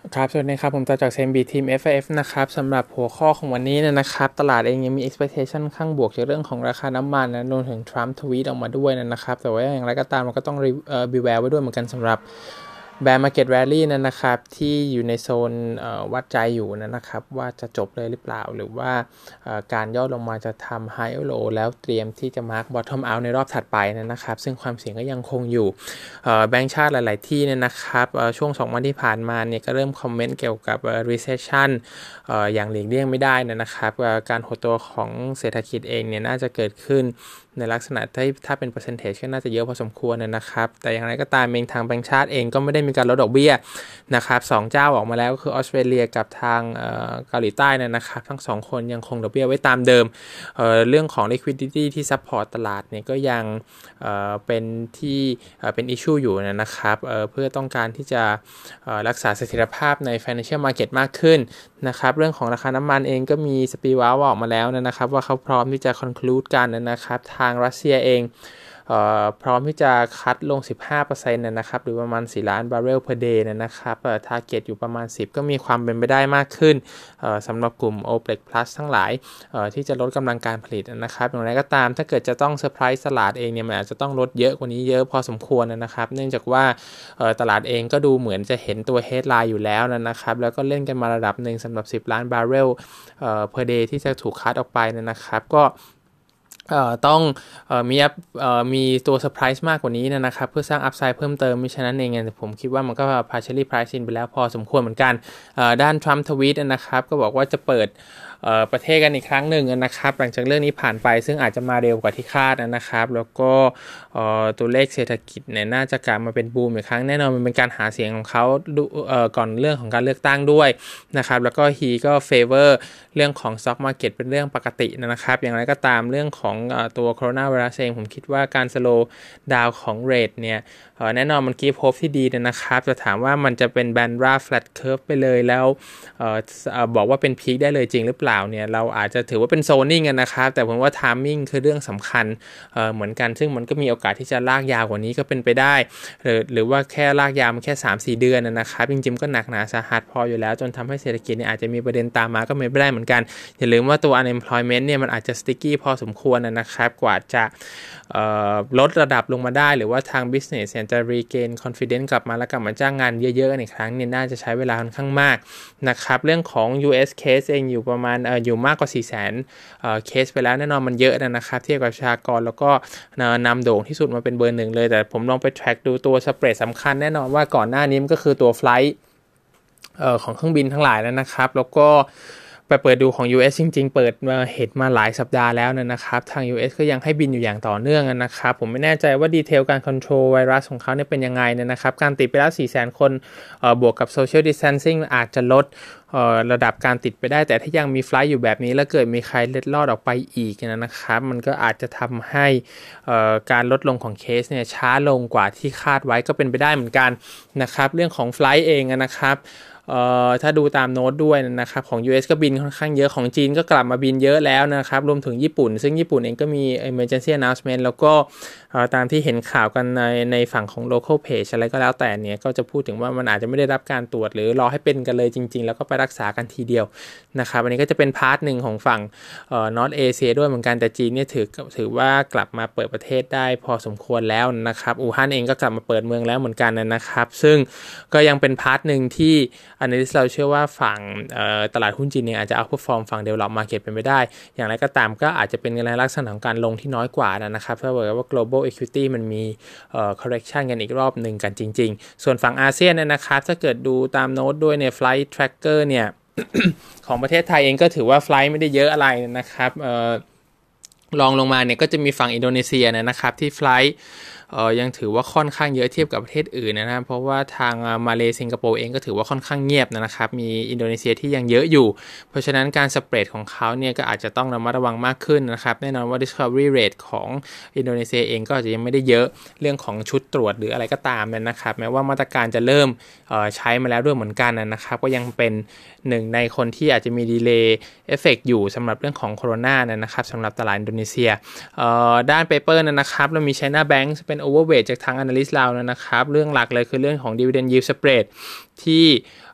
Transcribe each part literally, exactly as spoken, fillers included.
ครับสวัสดีครับผมต่อจาก ซี เอ็ม บี ทีม เอฟ เอฟ นะครับสำหรับหัวข้อของวันนี้เนยนะครับตลาดเองยังมี expectation ข้างบวกจากเรื่องของราคาน้ำมันนะรวมถึงทรัมป์ทวีตออกมาด้วยนะครับแต่ว่าอย่างไรก็ตามเราก็ต้องเอ่อ beware ไว้ด้วยเหมือนกันสำหรับ bear market rally นั่นนะครับที่อยู่ในโซนวัดใจอยู่นะครับว่าจะจบเลยหรือเปล่าหรือว่าการย่อลงมาจะทำ high low แล้วเตรียมที่จะ mark bottom out ในรอบถัดไปนะครับซึ่งความเสี่ยงก็ยังคงอยู่แบงก์ชาติหลายๆที่เนี่ยนะครับช่วงสองวันที่ผ่านมาเนี่ยก็เริ่มคอมเมนต์เกี่ยวกับ recession อย่างหลีกเลี่ยงไม่ได้นะครับการหดตัวของเศรษฐกิจเองเนี่ยน่าจะเกิดขึ้นในลักษณะที่ถ้าเป็น percentage ก็น่าจะเยอะพอสมควรนะครับแต่อย่างไรก็ตามเองทางแบงก์ชาติเองก็ไม่ได้มีการลดดอกเบี้ยนะครับสองเจ้าออกมาแล้วก็คือออสเตรเลียกับทางเกาหลีใต้นะครับทั้งสองคนยังคงดอกเบี้ยไว้ตามเดิม เอ่อ เรื่องของ liquidity ที่ support ตลาดเนี่ยก็ยังเอ่อเป็นที่เอ่อเป็น issue อยู่นะครับเอ่อเพื่อต้องการที่จะเอ่อรักษาเสถียรภาพใน financial market มากขึ้นนะครับเรื่องของราคาน้ำมันเองก็มีสปีวาวออกมาแล้วนะครับว่าเขาพร้อมที่จะ conclude กันนะครับทางรัสเซียเองพร้อมที่จะคัดลง สิบห้าเปอร์เซ็นต์ นะครับหรือประมาณสี่ล้านบาร์เรล per day นะครับเอ่อ target อยู่ประมาณสิบก็มีความเป็นไปได้มากขึ้นสำหรับกลุ่ม โอ เปก plus ทั้งหลายที่จะลดกำลังการผลิตนะครับอย่างไรก็ตามถ้าเกิดจะต้องเซอร์ไพรส์ตลาดเองเนี่ยมันอาจจะต้องลดเยอะกว่านี้เยอะพอสมควรนะครับเนื่องจากว่าตลาดเองก็ดูเหมือนจะเห็นตัว headline อยู่แล้วนะครับแล้วก็เล่นกันมาระดับหนึ่งสำหรับสิบล้านบาร์เรล per day ที่จะถูกคัดออกไปนะครับก็เอ่อต้องเอ่อมีเอ่อมีตัวเซอร์ไพรส์มากกว่านี้นะครับเพื่อสร้างอัพไซด์เพิ่มเติมมิฉะนั้นเองเนี่ยผมคิดว่ามันก็ partially price in ไปแล้วพอสมควรเหมือนกันเอ่อด้านทรัมป์ทวีตนะครับก็บอกว่าจะเปิดประเทศกันอีกครั้งหนึ่งนะครับหลังจากเรื่องนี้ผ่านไปซึ่งอาจจะมาเร็วกว่าที่คาดนะครับแล้วก็ตัวเลขเศรษฐกิจเนี่ยน่าจะกลับมาเป็นบูมอีกครั้งแน่นอนมันเป็นการหาเสียงของเขาก่อนเรื่องของการเลือกตั้งด้วยนะครับแล้วก็ฮีก็เฟเวอร์เรื่องของ stock market เป็นเรื่องปกตินะครับอย่างไรก็ตามเรื่องของตัวโคโรนาไวรัสเองผมคิดว่าการสโลว์ดาวของเรทเนี่ยแน่นอนมันกีฟโฮปที่ดีนะครับจะถามว่ามันจะเป็นแบนราฟแฟลตเคิร์ฟไปเลยแล้วบอกว่าเป็นพีคได้เลยจริงหรือเปล่าเนี่ยเราอาจจะถือว่าเป็นโซนิ่งกันนะครับแต่ผมว่าไทมิ่งคือเรื่องสำคัญเหมือนกันซึ่งมันก็มีโอกาสที่จะลากยาวกว่านี้ก็เป็นไปได้หรือหรือว่าแค่ลากยาวมันแค่ สามถึงสี่ เดือนนะครับจริงๆก็หนักหนาสาหัสพออยู่แล้วจนทำให้เศรษฐกิจเนี่ยอาจจะมีประเด็นตามมาก็ไม่ได้เหมือนกันอย่าลืมว่าตัว unemployment เนี่ยมันอาจจะ sticky พอสมควรนะครับกว่าจะลดระดับลงมาได้หรือว่าทาง business เนี่ยจะ regain confidence กลับมาแล้วกลับมาจ้างงานเยอะๆอีกครั้งเนี่ยน่าจะใช้เวลาค่อนข้างมากนะครับเรื่องของ ยู เอส case เองอยู่ประมาณเอ่ออยู่มากกว่า สี่แสน เอ่อ case ไปแล้วแน่นอนมันเยอะนะครับเทียบกับประชากรแล้วก็นำโด่งที่สุดมาเป็นเบอร์หนึ่งเลยแต่ผมลองไป track ดูตัวสเปรดสำคัญแน่นอนว่าก่อนหน้านี้มันก็คือตัว flight เอ่อของเครื่องบินทั้งหลายแล้วนะครับแล้วก็ไปเปิดดูของ ยู เอส จริงๆเปิดมาเห็นมาหลายสัปดาห์แล้วนะครับทาง ยู เอส ก็ยังให้บินอยู่อย่างต่อเนื่องนะครับผมไม่แน่ใจว่าดีเทลการคอนโทรลไวรัสของเขาเนี่ยเป็นยังไงนะครับการติดไปแล้ว สี่แสน คนเอ่อบวกกับ social distancing อาจจะลดเอ่อระดับการติดไปได้แต่ถ้ายังมีไฟล์อยู่แบบนี้แล้วเกิดมีใครเล็ดลอดออกไปอีกนะครับมันก็อาจจะทำให้เอ่อการลดลงของเคสเนี่ยช้าลงกว่าที่คาดไว้ก็เป็นไปได้เหมือนกันนะครับเรื่องของไฟล์เองนะครับเอ่อถ้าดูตามโน้ตด้วยนะครับของ ยู เอส ก็บินค่อนข้างเยอะของจีนก็กลับมาบินเยอะแล้วนะครับรวมถึงญี่ปุ่นซึ่งญี่ปุ่นเองก็มี emergency announcement แล้วก็ตามที่เห็นข่าวกันในในฝั่งของ local page อะไรก็แล้วแต่เนี่ยก็จะพูดถึงว่ามันอาจจะไม่ได้รับการตรวจหรือรอให้เป็นกันเลยจริงๆแล้วก็ไปรักษากันทีเดียวนะครับอันนี้ก็จะเป็นพาร์ทหนึ่งของฝั่งเอ่อ North Asia ด้วยเหมือนกันแต่จีนเนี่ยถือถือว่ากลับมาเปิดประเทศได้พอสมควรแล้วนะครับอู่ฮั่นเองก็กลับมาเปิดเมืองแล้วเหมือนกันนะครับซึ่งก็ยังเป็นพาร์ทหนึ่งที่อันนี้เราเชื่อว่าฝั่งตลาดหุ้นจีนเนี่ยอาจจะเอาพอฟอร์มฝั่ง develop market เป็นไปได้อย่างไรก็ตามก็อาจจะเป็นในลักษณะของการลงที่น้อยกว่านะครับเพราะว่า global equity มันมี correction กันอีกรอบหนึ่งกันจริงๆส่วนฝั่งอาเซียนนะครับถ้าเกิดดูตามโน้ตด้วยเนี่ย flight tracker เนี่ย ของประเทศไทยเองก็ถือว่า flight ไม่ได้เยอะอะไรนะครับลองลงมาเนี่ยก็จะมีฝั่งอินโดนีเซียนะครับที่ flightเอ่อยังถือว่าค่อนข้างเยอะเทียบกับประเทศอื่นนะครับเพราะว่าทางมาเลสิงคโปร์เองก็ถือว่าค่อนข้างเงียบนะครับมีอินโดนีเซียที่ยังเยอะอยู่เพราะฉะนั้นการสเปรดของเขาเนี่ยก็อาจจะต้องระมัดระวังมากขึ้นนะครับแน่นอนว่า discovery rate ของอินโดนีเซียเองก็อาจจะยังไม่ได้เยอะเรื่องของชุดตรวจหรืออะไรก็ตามนะครับแม้ว่ามาตรการจะเริ่มเอ่อใช้มาแล้วด้วยเหมือนกันนะครับก็ยังเป็นหนึ่งในคนที่อาจจะมีดีเลย์เอฟเฟกต์อยู่สำหรับเรื่องของโคโรนานะครับสำหรับตลาดอินโดนีเซียด้านเปเปอร์นะครับเรามี China Bank เป็น overweight จากทาง analyst เรานะครับเรื่องหลักเลยคือเรื่องของ dividend yield spread ที่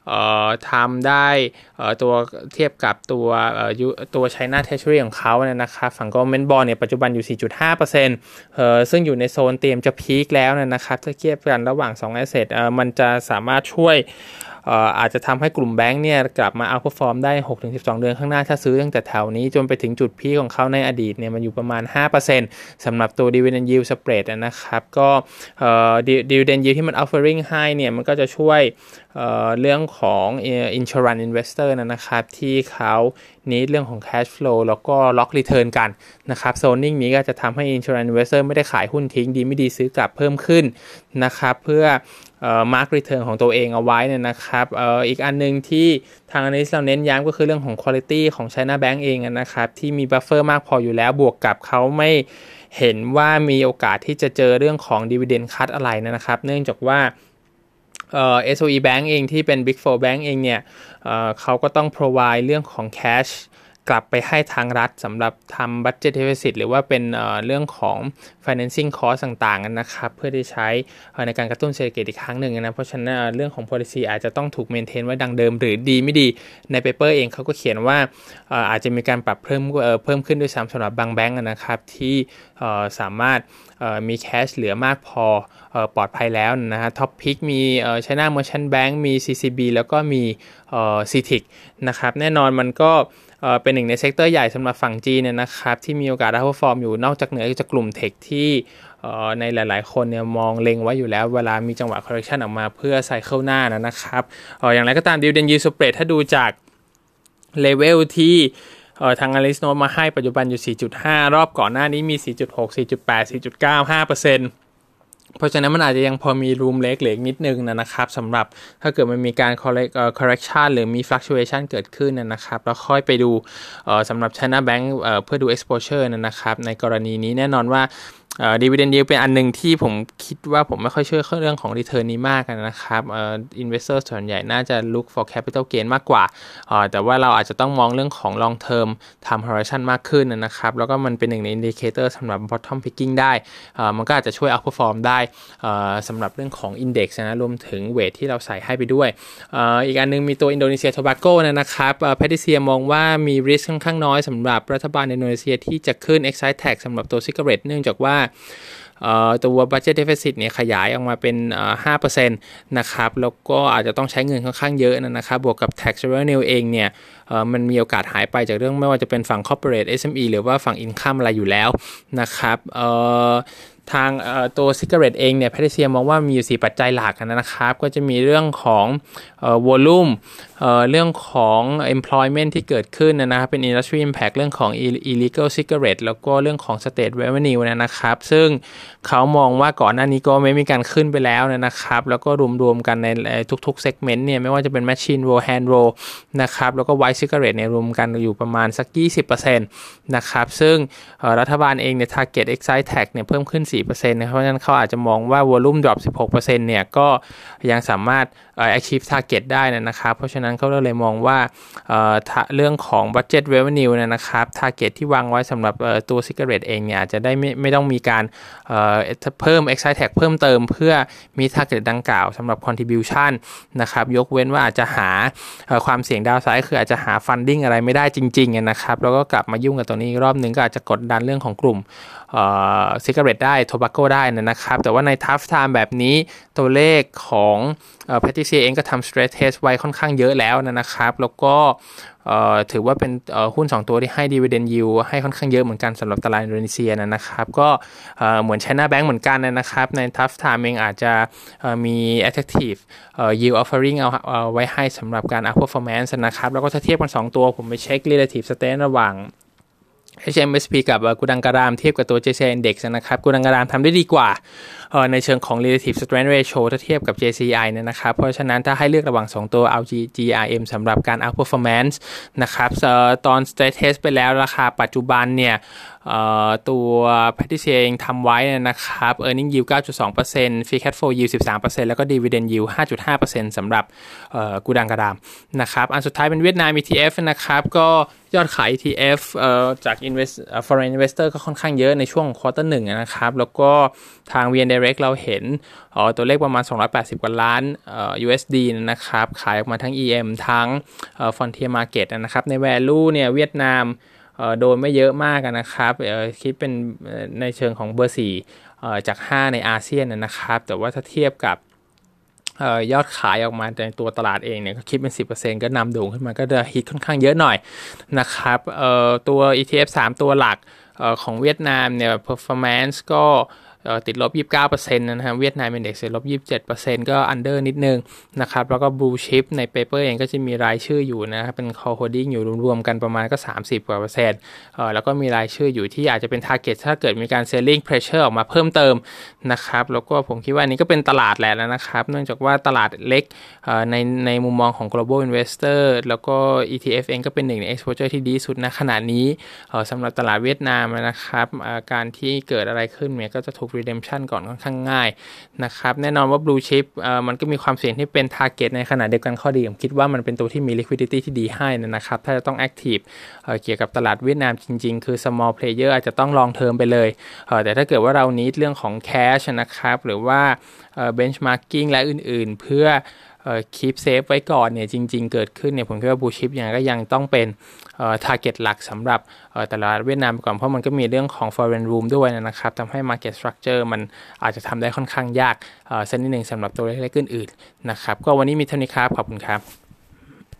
ทำได้ตัวเทียบกับตัวตัว China Treasury ของเขาเนี่ยนะครับฝั่ง Government Bond เนี่ยปัจจุบันอยู่ สี่จุดห้าเปอร์เซ็นต์ เอ่อซึ่งอยู่ในโซนเตรียมจะพีคแล้วนะครับถ้าเทียบกันระหว่างสอง asset เอ่อมันจะสามารถช่วยเอ่ออาจจะทำให้กลุ่มแบงค์เนี่ยกลับมาเอาท์เพอร์ฟอร์มได้ หกถึงสิบสอง เดือนข้างหน้าถ้าซื้อตั้งแต่แถวนี้จนไปถึงจุดพีคของเขาในอดีตเนี่ยมันอยู่ประมาณ ห้าเปอร์เซ็นต์ สำหรับตัว Dividend Yield Spread นะครับก็เอ่อ Dividend Yield ที่มัน offering ให้เนี่ยมันก็จะช่วยเอ่อเรื่องของ insurance investor นะครับที่เขานี้เรื่องของ cash flow แล้วก็ lock return กันนะครับโซนนิ่งนี้ก็จะทำให้ insurance investor ไม่ได้ขายหุ้นทิ้งดีไม่ดีซื้อกลับเพิ่มขึ้นนะครับเพื่อเอ่อ mark return ของตัวเองเอาไว้เนี่ยนะครับเอ่ออีกอันนึงที่ทาง analyst เราเน้นย้ำก็คือเรื่องของ quality ของ China Bank เองนะครับที่มี buffer มากพออยู่แล้วบวกกับเขาไม่เห็นว่ามีโอกาสที่จะเจอเรื่องของ dividend cut อะไรนะครับเนื่องจากว่าเอ่อ เอส โอ อี Bank เองที่เป็น Big Four Bank เองเนี่ยเอ่อเขาก็ต้อง provide เรื่องของ cashกลับไปให้ทางรัฐสำหรับทำ budget deficit หรือว่าเป็นเอ่อเรื่องของ financing cost ต่างๆนะครับเพื่อที่ใช้ในการกระตุ้นเศรษฐกิจอีกครั้งหนึ่งนะเพราะฉะนั้นเรื่องของ policy อาจจะต้องถูก maintain ไว้ดังเดิมหรือดีไม่ดีใน paper เองเขาก็เขียนว่าอาจจะมีการปรับเพิ่มเพิ่มขึ้นด้วยซ้ำสำหรับบางแบงก์นะครับที่สามารถมีแคชเหลือมากพอปลอดภัยแล้วนะฮะท็อปพิกมี China Merchant Bank มี ซี ซี บี แล้วก็มี ซี ที ไอ ซี นะครับแน่นอนมันก็เป็นหนึ่งในเซกเตอร์ใหญ่สำหรับฝั่งจีนเนี่ยนะครับที่มีโอกาสเอาท์เพอร์ฟอร์มอยู่นอกจากเหนือจากกลุ่มเทคที่ในหลายๆคนเนี่ยมองเล็งไว้อยู่แล้วเวลามีจังหวะ correction ออกมาเพื่อไซเคิลหน้านะครับอย่างไรก็ตาม Dividend Yield Spread ถ้าดูจากเลเวลที่ทาง analyst โน้ตมาให้ปัจจุบันอยู่ สี่จุดห้า รอบก่อนหน้านี้มี สี่จุดหก สี่จุดแปด สี่จุดเก้า ห้าเปอร์เซ็นต์ เพราะฉะนั้นมันอาจจะยังพอมี room เล็กเหลือนิดนึงนะครับสำหรับถ้าเกิดมันมีการ correction หรือมี fluctuation เกิดขึ้นนะครับแล้วค่อยไปดูสำหรับ China Bank เพื่อดู exposure นะครับในกรณีนี้แน่นอนว่าเอ่อ dividend yield เป็นอันนึงที่ผมคิดว่าผมไม่ค่อยเชื่อเรื่องของ return นี้มากนะครับเอ่อ investor ส่วนใหญ่น่าจะ look for capital gain มากกว่าเอ่อแต่ว่าเราอาจจะต้องมองเรื่องของ long term time horizon มากขึ้นนะครับแล้วก็มันเป็นหนึ่งใน indicator สำหรับ bottom picking ได้เอ่อมันก็อาจจะช่วย outperform ได้เอ่อสำหรับเรื่องของ index นะรวมถึง weight ที่เราใส่ให้ไปด้วยเอ่ออีกอันนึงมีตัว Indonesia Tobacco นะครับเอ่อ Patricia มองว่ามี risk ค่อนข้างน้อยสำหรับรัฐบาลอินโดนีเซียที่จะขึ้น excise tax สำหรับตัว cigarette เนื่องจากว่าตัว budget deficit เนี่ยขยายออกมาเป็น ห้าเปอร์เซ็นต์ นะครับแล้วก็อาจจะต้องใช้เงินค่อนข้างเยอะนะครับบวกกับ tax revenue เองเนี่ยมันมีโอกาสหายไปจากเรื่องไม่ว่าจะเป็นฝั่ง corporate เอส เอ็ม อี หรือว่าฝั่ง income อะไรอยู่แล้วนะครับทางตัว cigarette เองเนี่ยแพทริเซียมองว่ามีอยู่สี่ปัจจัยหลักนะครับก็จะมีเรื่องของเอ่อ volume เอ่อเรื่องของ employment ที่เกิดขึ้นนะครับเป็น industry impact เรื่องของ illegal cigarette แล้วก็เรื่องของ state revenue นะครับซึ่งเขามองว่าก่อนหน้านี้ก็ไม่มีการขึ้นไปแล้วนะครับแล้วก็รวมๆกันในทุกๆ segment เนี่ยไม่ว่าจะเป็น machine roll hand roll นะครับแล้วก็ white cigarette เนี่ยรวมกันอยู่ประมาณสัก ยี่สิบเปอร์เซ็นต์ นะครับซึ่งรัฐบาลเองเนี่ย target excise tax เนี่ยเพิ่มขึ้นสี่เปอร์เซ็นต์ นะครับเพราะฉะนั้นเขาอาจจะมองว่า volume drop สิบหกเปอร์เซ็นต์ เนี่ยก็ยังสามารถเอ่อ achieve target ได้นะครับเพราะฉะนั้นเขาเลยมองว่าเอ่อเรื่องของ budget revenue นะครับ target ที่วางไว้สำหรับตัว cigarette เองเนี่ยอาจจะได้ไม่ไม่ต้องมีการเอ่อเพิ่ม excise tax เพิ่มเติมเพื่อมี target ดังกล่าวสำหรับ contribution นะครับยกเว้นว่าอาจจะหาความเสี่ยงดาวไซด์คืออาจจะหา funding อะไรไม่ได้จริงๆนะครับแล้วก็กลับมายุ่งกับตัวนี้อีกรอบนึงก็อาจจะกดดันเรื่องของกลุ่มเอ่อ cigarette ได้ tobacco ได้นะครับแต่ว่าใน tough time แบบนี้ตัวเลขของเอ่อ Patricia เองก็ทำ stress test ไว้ค่อนข้างเยอะแล้วนะครับแล้วก็เอ่อถือว่าเป็นเอ่อหุ้นสองตัวที่ให้ dividend yield ให้ค่อนข้างเยอะเหมือนกันสำหรับตลาดอินโดนีเซียนะครับก็เอ่อเหมือน China Bank เหมือนกันนะครับใน tough time เองอาจจะเอ่อมี attractive เอ่อ yield offering เอาเอาไว้ให้สำหรับการ outperformance นะครับแล้วก็ถ้าเทียบกันสองตัวผมไปเช็ค relative strength ระหว่างเอช เอ็ม เอส พี กับกูดังการามเทียบกับตัว เจ ซี ไอ Index นะครับกูดังการามทำได้ดีกว่าในเชิงของ relative strength ratio ถ้าเทียบกับ เจ ซี ไอ เนี่ยนะครับเพราะฉะนั้นถ้าให้เลือกระหว่างสองตัวเอา จี อาร์ เอ็ม สำหรับการ outperformance นะครับตอน stress test ไปแล้วราคาปัจจุบันเนี่ยตัว Patricia เองทำไว้นะครับ earning yield เก้าจุดสองเปอร์เซ็นต์ free cash flow yield สิบสามเปอร์เซ็นต์ แล้วก็ dividend yield ห้าจุดห้าเปอร์เซ็นต์ สำหรับกูดังการามนะครับอันสุดท้ายเป็นเวียดนาม อี ที เอฟ นะครับก็ยอดขาย อี ที เอฟ เอ่อจาก invest foreign investor ก็ค่อนข้างเยอะในช่วง quarter หนึ่งนะครับแล้วก็ทาง วี เอ็น Direct เราเห็นอ๋อตัวเลขประมาณสองร้อยแปดสิบกว่าล้านเอ่อ ยู เอส ดี นะครับขายออกมาทั้ง อี เอ็ม ทั้งเอ่อ Frontier Market นะครับใน value เนี่ยเวียดนามเอ่อโดนไม่เยอะมากนะครับเอ่อคิดเป็นในเชิงของเบอร์สี่เอ่อจากห้าในอาเซียนนะครับแต่ว่าถ้าเทียบกับเอ่อยอดขายออกมาในตัวตลาดเองเนี่ยก็คิดเป็น สิบเปอร์เซ็นต์ ก็นำโด่งขึ้นมาก็จะฮิตค่อนข้างเยอะหน่อยนะครับเอ่อตัว อี ที เอฟ สามตัวหลักเอ่อของเวียดนามเนี่ย performance ก็ติดลบ ยี่สิบเก้าเปอร์เซ็นต์ นะครับเวียดนาม Index ติดลบ ยี่สิบเจ็ดเปอร์เซ็นต์ ก็ under นิดนึงนะครับแล้วก็ blue chip ใน paper เองก็จะมีรายชื่ออยู่นะครับเป็น call holding อยู่รวมๆกันประมาณก็สามสิบกว่าเปอร์เซ็นต์เอ่อแล้วก็มีรายชื่ออยู่ที่อาจจะเป็น target ถ้าเกิดมีการ selling pressure ออกมาเพิ่มเติมนะครับแล้วก็ผมคิดว่านี้ก็เป็นตลาดแหละนะครับเนื่องจากว่าตลาดเล็กเอ่อในในมุมมองของ global investor แล้วก็ อี ที เอฟ เองก็เป็นหนึ่งใน exposure ที่ดีสุดณขณะนี้เอ่อสำหรับตลาดเวียดนามนะครับเอ่อการที่เกิดอะไรขึ้นเนี่ยก็จะถูก redemption ก่อนค่อนข้างง่ายนะครับแน่นอนว่า blue chip เอ่อมันก็มีความเสี่ยงที่เป็น target ในขณะเดียวกันข้อดีผมคิดว่ามันเป็นตัวที่มี liquidity ที่ดีให้นะครับถ้าจะต้อง active เอ่อเกี่ยวกับตลาดเวียดนามจริงๆคือ small player อาจจะต้อง long term ไปเลยเอ่อแต่ถ้าเกิดว่าเรา need เรื่องของ cash นะครับหรือว่าเอ่อ benchmarking และอื่นๆเพื่อเอ่อ keep safe ไว้ก่อนเนี่ยจริงๆเกิดขึ้นเนี่ยผมคิดว่า blue chip ยังไงก็ยังต้องเป็นเอ่อ target หลักสำหรับเอ่อตลาดเวียดนามก่อนเพราะมันก็มีเรื่องของ foreign room ด้วยนะครับทำให้ market structure มันอาจจะทำได้ค่อนข้างยากเอ่อสักนิดนึงสำหรับตัวเล็กๆอื่นๆนะครับก็วันนี้มีเท่านี้ครับขอบคุณครับ